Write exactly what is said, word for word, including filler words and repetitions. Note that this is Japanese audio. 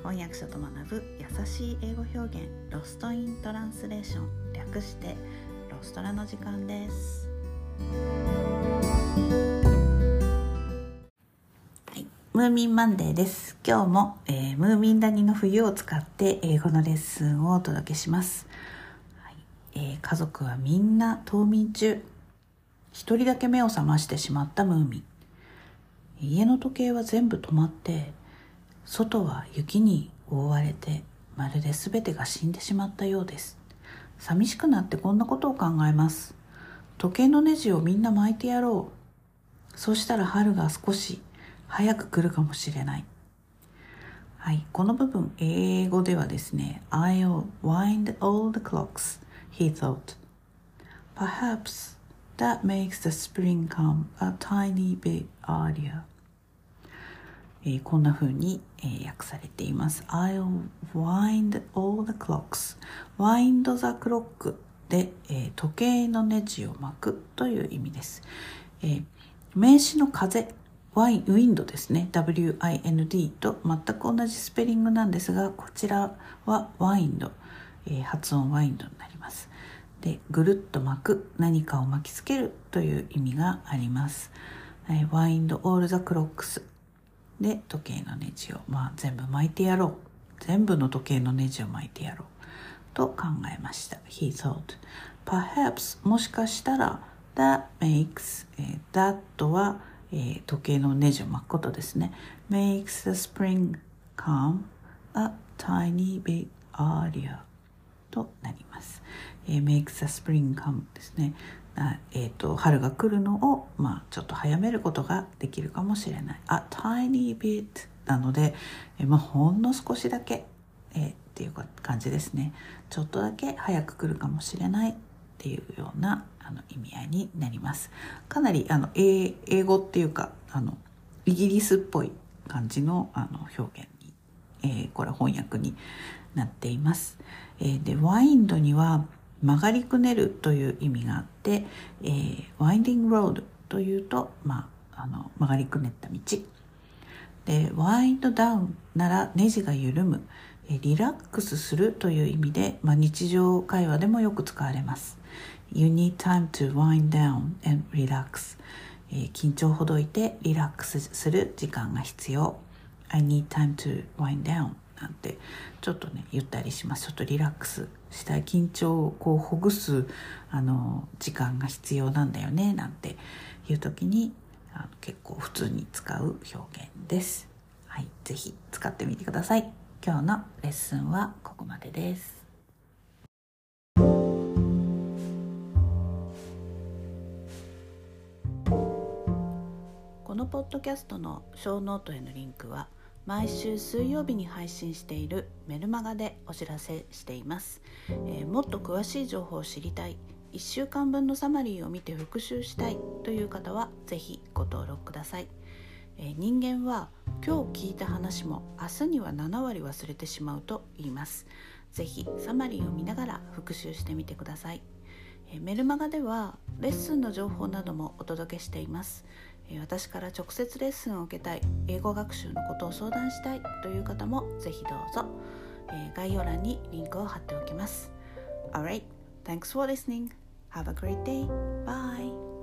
翻訳者と学ぶ優しい英語表現、ロストイントランスレーション、略してロストラの時間です。はい、ムーミンマンデーです。今日も、えー、ムーミン谷の冬を使って英語のレッスンをお届けします。はいえー、家族はみんな冬眠中。一人だけ目を覚ましてしまったムーミン。家の時計は全部止まって外は雪に覆われてまるで全てが死んでしまったようです。寂しくなってこんなことを考えます。時計のネジをみんな巻いてやろう。そうしたら春が少し早く来るかもしれない。はい、この部分英語ではですね I'll wind all the clocks, he thought. Perhaps that makes the spring come a tiny bit earlier.えー、こんな風に、えー、訳されています。I'll wind all the clocks. wind the clock で、えー、時計のネジを巻くという意味です。えー、名詞の風、ワイン、ウィンドですね。ダブリューアイエヌディー と全く同じスペリングなんですが、こちらはワインド、えー、発音ワインドになります。で、ぐるっと巻く、何かを巻きつけるという意味があります。えー、wind all the clocksで時計のネジを、まあ、全部巻いてやろう全部の時計のネジを巻いてやろうと考えました。 He thought perhaps もしかしたら that makes、えー、that は、えー、時計のネジを巻くことですね。 makes the spring come a tiny bit earlier となります、えー、makes the spring come ですね。えー、と春が来るのを、まあ、ちょっと早めることができるかもしれない。A tiny bit なので、えーまあ、ほんの少しだけ、えー、っていう感じですね。ちょっとだけ早く来るかもしれないっていうようなあの意味合いになります。かなりあの 英, 英語っていうかあのイギリスっぽい感じ の, あの表現に、えー、これ翻訳になっています。えー、でワインドには曲がりくねるという意味があって、えー、ワインディングロードというと、まあ、あの曲がりくねった道で、ワインドダウンならネジが緩む、えー、リラックスするという意味で、まあ、日常会話でもよく使われます。 You need time to wind down and relax、えー、緊張をほどいてリラックスする時間が必要。 I need time to wind downなんてちょっとね言ったりします。ちょっとリラックスしたい、緊張をこうほぐすあの時間が必要なんだよねなんていう時にあの結構普通に使う表現です。はい、ぜひ使ってみてください。今日のレッスンはここまでです。このポッドキャストのショーノートへのリンクは毎週水曜日に配信しているメルマガでお知らせしています。えー、もっと詳しい情報を知りたい、いっしゅうかんぶんのサマリーを見て復習したいという方はぜひご登録ください。えー、人間は今日聞いた話も明日にはななわり忘れてしまうと言います。ぜひサマリーを見ながら復習してみてください。えー、メルマガではレッスンの情報などもお届けしています。私から直接レッスンを受けたい、英語学習のことを相談したいという方もぜひどうぞ。概要欄にリンクを貼っておきます。Alright, thanks for listening. Have a great day. Bye.